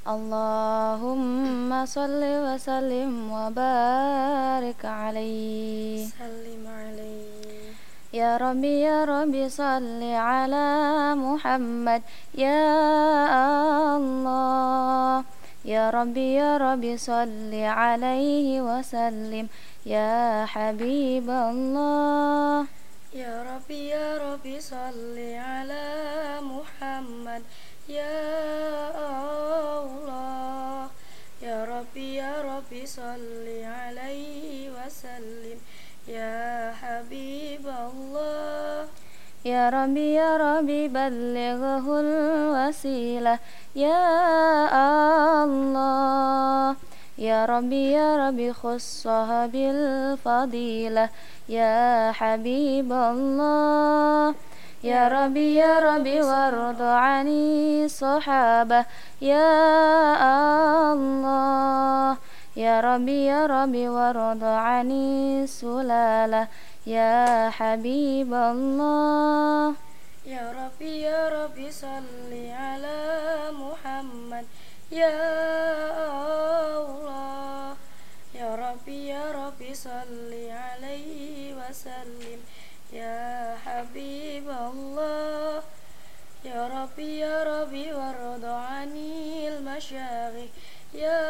Allahumma salli wa sallim wa barik alaihi. Sallim alaihi. Ya Rabbi salli ala Muhammad ya Allah. Ya Rabbi salli alaihi wa sallim ya Habiballah. Ya Rabbi salli ala Muhammad ya Allah. Ya Rabbi salli alaihi wa sallim ya Habiballah. Ya Rabbi ballighul wasilah ya Allah. Ya Rabbi khussaha bil fadilah ya Habiballah. Ya Rabbi warda ani sahabah ya Allah. Ya Rabbi warda ani sulalah ya Habiballah. Ya Rabbi salli ala Muhammad ya Allah. Ya Rabbi salli alaihi wa sallim ya Habiballah. Ya Rabbi warda anil masyayikh ya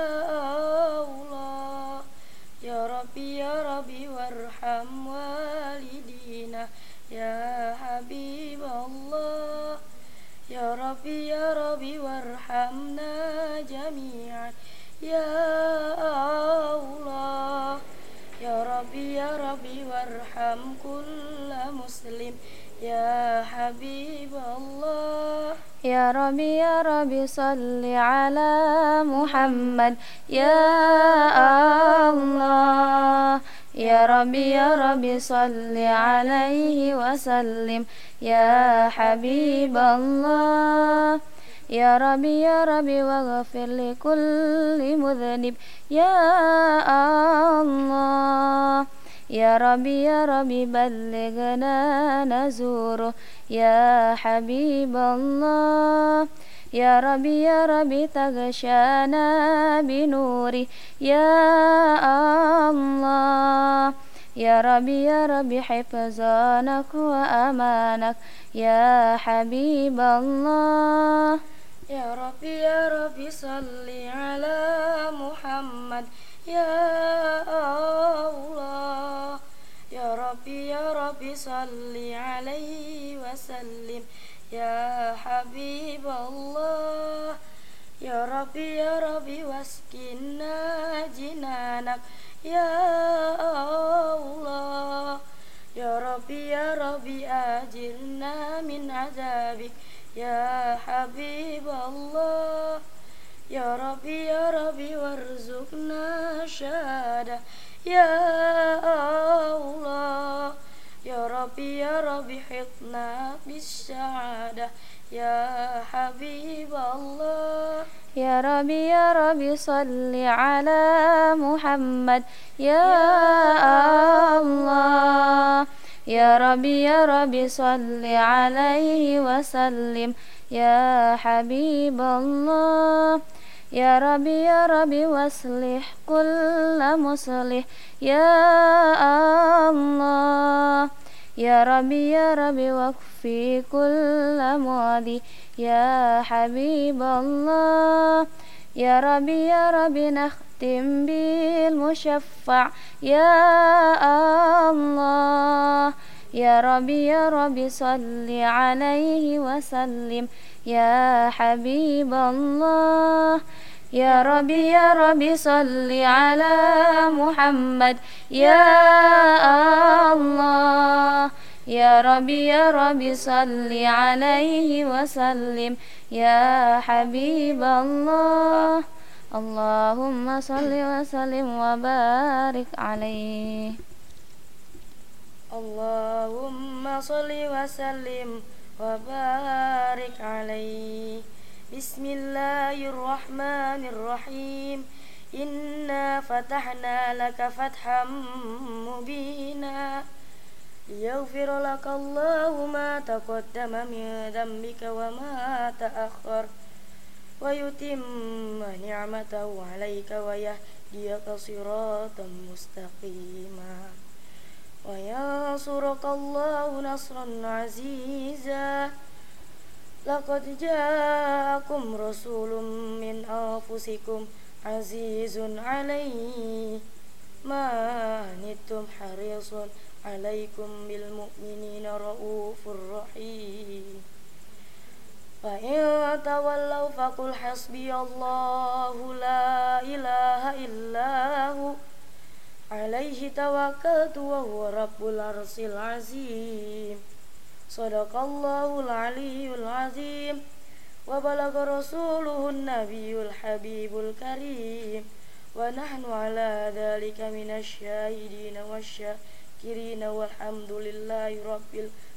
Allah. Ya Rabbi warham walidina ya Habiballah. Ya Rabbi warhamna jami'an ya Allah. Ya Rabbi warham kulla muslim ya Habiballah. Ya Rabbi salli ala Muhammad ya Allah. Ya Rabbi salli alaihi wa sallim ya Habiballah. Ya Rabbi waghfir li kulli mudhnib ya Allah. Ya Rabbi ballighna nazuruh ya Habiballah. Ya Rabbi taghshana binuri ya Allah. Ya Rabbi hifzanak wa amanak ya Habiballah. Ya Rabbi salli ala Muhammad ya Allah. Ya Rabbi salli alaihi wa sallim ya Habiballah. Ya Rabbi waskinna jinanak ya Allah. Ya Rabbi ajirna min azabik ya Habiballah. Ya Rabbi warzuqna syahadah ya Allah. Ya Rabbi hitna bis syahadah ya Habiballah. Ya Rabbi salli ala Muhammad ya Allah. Ya Rabbi salli alaihi wa sallim ya Habiballah. Ya Rabbi waslih kulla muslih ya Allah. Ya Rabbi wakfi kulla muadi ya Habiballah. Ya Rabbi nakhtim bil musyaffa' ya Allah. Ya Rabbi salli alaihi wa sallim ya Habiballah. Ya Rabbi salli ala Muhammad ya Allah. Ya Rabbi salli alaihi wa sallim ya Habiballah. Allahumma salli wa sallim wa barik alaihi. Allahumma salli wa sallim wa barik alaihi. Bismillahirrahmanirrahim. Inna fatahna laka fatham mubina liyaghfira laka Allahu ma taqaddama min dhanbika wa ma ta'akhkhar ويتم نعمته عليك ويهديك صراطا مستقيما وينصرك الله نصرا عزيزا لقد جاءكم رسول من أنفسكم عزيز عليه ما عنتم حريص عليكم بالمؤمنين رؤوف رحيم فإن تولوا فقل حسبي الله لا إله إلا هو عليه توكلت وهو رب العرش العظيم صدق الله العلي العظيم وبلغ رسوله النبي الحبيب الكريم ونحن على ذلك من الشاهدين والشاكرين والحمد لله رب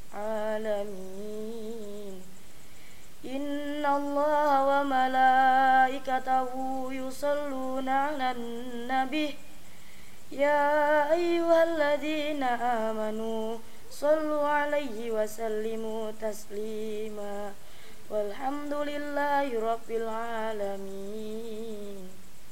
العالمين إن الله وملائكته يصلون على النبي يا أيها الذين آمنوا صلوا عليه وسلموا تسليما والحمد لله رب العالمين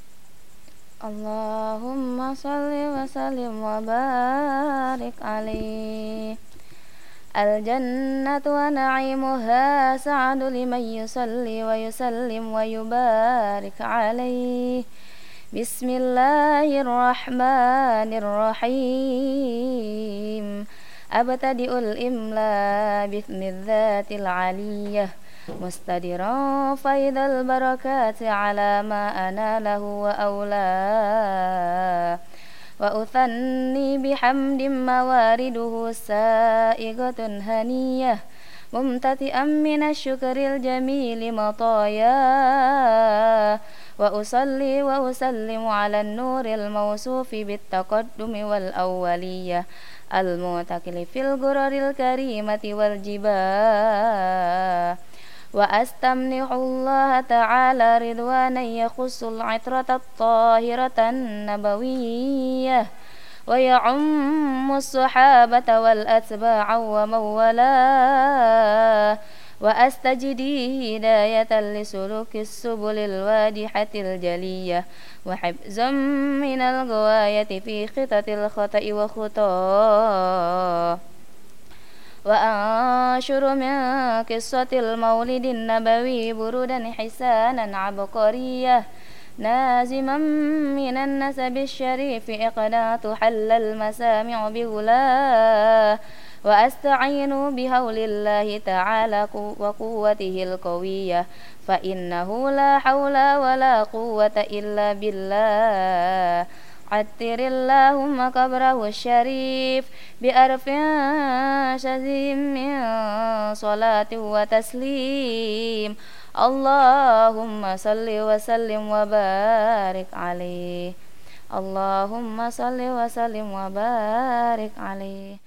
اللهم صل وسلم وبارك عليه الجنة ونعيمها سعد لمن يصلي ويسلم ويبارك عليه بسم الله الرحمن الرحيم أبتدئ الإملاء باسم الذات العلية مستدرا فيض البركات على ما أناله وأولاه وأثني بحمد موارده سائغة هنية ممتطئا من الشكر الجميل مطايا وأصلي وأسلم على النور الموصوف بالتقدم والأولية المعتقل في الغرر الكريمة والجباه وأستمنح الله تعالى رضوانا يخص العطرة الطاهرة النبوية ويعم الصحابة والأتباع ومن والاه وأستجدي هداية لسلوك السبل الواضحة الجلية وحفظا من الغواية في خطط الخطأ وخطاه وأنشر من قصة المولد النبوي برودا حسانا عبقرية نازما من النسب الشريف إقناط حل المسامع بغلاه وأستعين بحول الله تعالى وقوته القوية فإنه لا حول ولا قوة إلا بالله عطر اللهم قبره الشريف بأرف شديد من صلاة وتسليم اللهم صل وسلم وبارك عليه اللهم صل وسلم وبارك عليه